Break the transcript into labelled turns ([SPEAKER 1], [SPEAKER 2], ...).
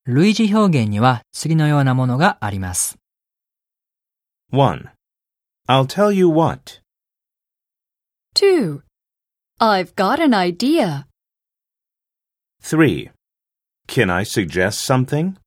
[SPEAKER 1] 類似表現には次のようなものがあります。
[SPEAKER 2] 1. I'll tell you what.
[SPEAKER 3] 2. I've got an idea.
[SPEAKER 2] 3. Can I suggest something?